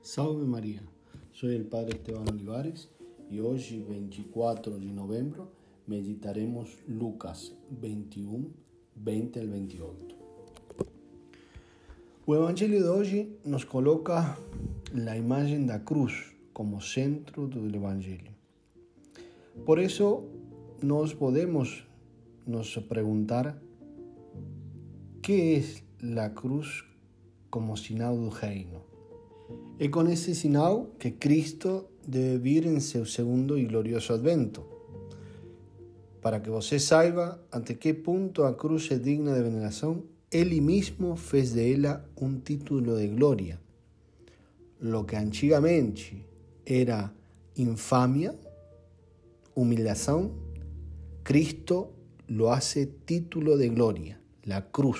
Salve Maria, sou o Padre Esteban Olivares e hoje, 24 de novembro, meditaremos Lucas 21, 20 ao 28. O Evangelho de hoje nos coloca a imagem da cruz como centro do Evangelho. Por isso, nós podemos nos perguntar que é a cruz como sinal do reino. É com esse sinal que Cristo deve vir em seu segundo e glorioso advento, para que você saiba até que ponto a cruz é digna de veneração. Ele mesmo fez dela um título de glória. Lo que antigamente era infamia, humilhação, Cristo lo hace título de glória, la cruz.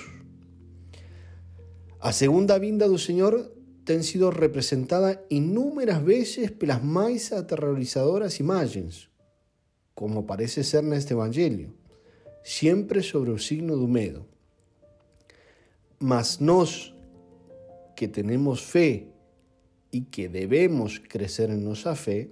A segunda vinda do Senhor tem sido representada inúmeras vezes pelas mais aterrorizadoras imagens, como parece ser neste Evangelho, sempre sobre o signo do medo. Mas nós, que temos fé e que devemos crescer em nossa fé,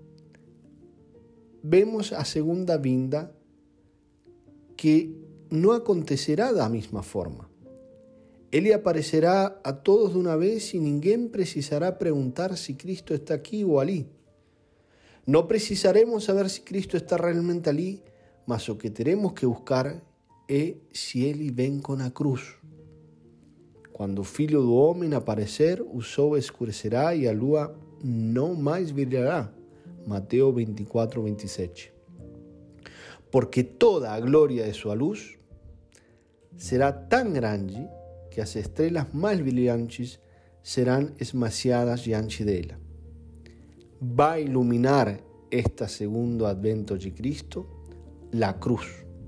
vemos a segunda vinda que não acontecerá da mesma forma. Ele aparecerá a todos de uma vez e ninguém precisará perguntar se Cristo está aqui ou ali. Não precisaremos saber se Cristo está realmente ali, mas o que teremos que buscar é se Ele vem com a cruz. Quando o Filho do Homem aparecer, o sol escurecerá e a lua não mais brilhará. Mateus 24, 27. Porque toda a glória de sua luz será tão grande que as estrelas mais brilhantes serão esmaciadas diante dela. Vai iluminar este segundo advento de Cristo, a cruz.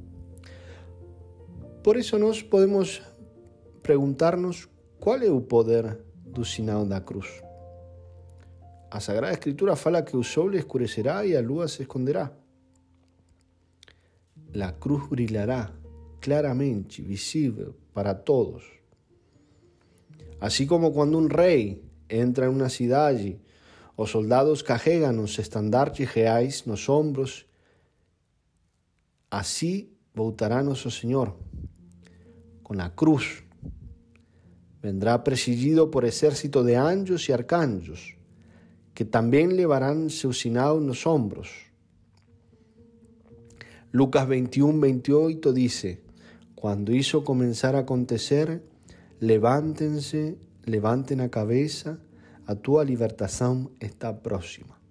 Por isso nós podemos perguntar-nos qual é o poder do sinal da cruz. A Sagrada Escritura fala que o sol escurecerá e a lua se esconderá. A cruz brilhará claramente, visível para todos. Assim como quando um rei entra em uma cidade, os soldados carregam os estandartes reais nos ombros, assim voltará nosso Senhor, com a cruz. Vendrá presidido por exército de anjos e arcanjos, que também levarão seu sinal nos ombros. Lucas 21, 28 diz: Quando isso começar a acontecer, levantem a cabeça, a tua libertação está próxima.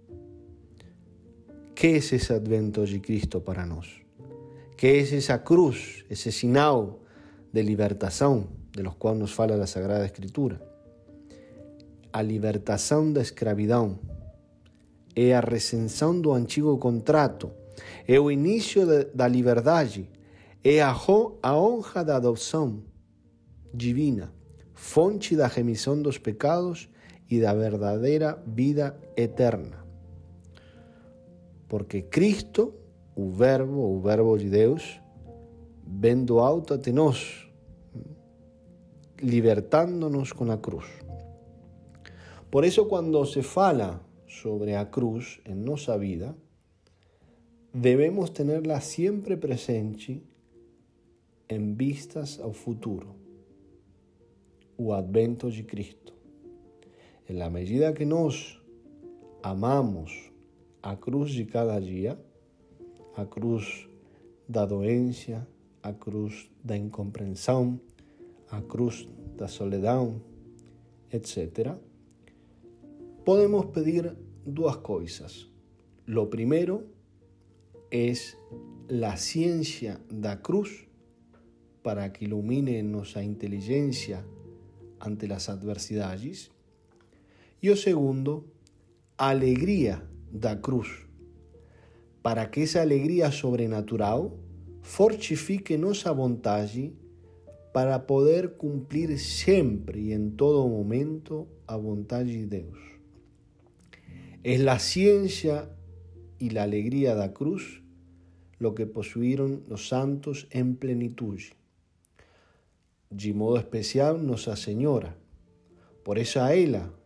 Que é esse advento de Cristo para nós? Que é essa cruz, esse sinal de libertação, de los qual nos fala a Sagrada Escritura? A libertação da escravidão é a rescisão do antigo contrato, é o início da liberdade, é a honra da adoção divina, fonte da remissão dos pecados e da verdadeira vida eterna. Porque Cristo, o Verbo de Deus, vem do alto até nós, libertando-nos com a cruz. Por isso, quando se fala sobre a cruz em nossa vida, devemos tenerla sempre presente em vistas ao futuro, o advento de Cristo. Na medida que nós amamos a cruz de cada dia, a cruz da doença, a cruz da incompreensão, a cruz da solidão, etc., podemos pedir duas coisas. Lo primeiro é a ciência da cruz para que ilumine nossa inteligência ante as adversidades. E o segundo, a alegria da cruz, para que essa alegria sobrenatural fortifique nossa vontade para poder cumprir sempre e em todo momento a vontade de Deus. É a ciência e a alegria da cruz lo que possuíram os santos em plenitude. De modo especial Nossa Senhora. Por eso a ella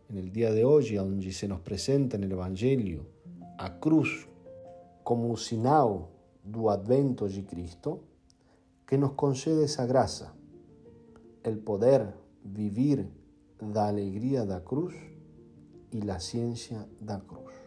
en el dia de hoje, onde se nos presenta no Evangelho a cruz como um sinal do advento de Cristo, que nos concede essa graça, el poder vivir da alegria da cruz e la ciencia da cruz.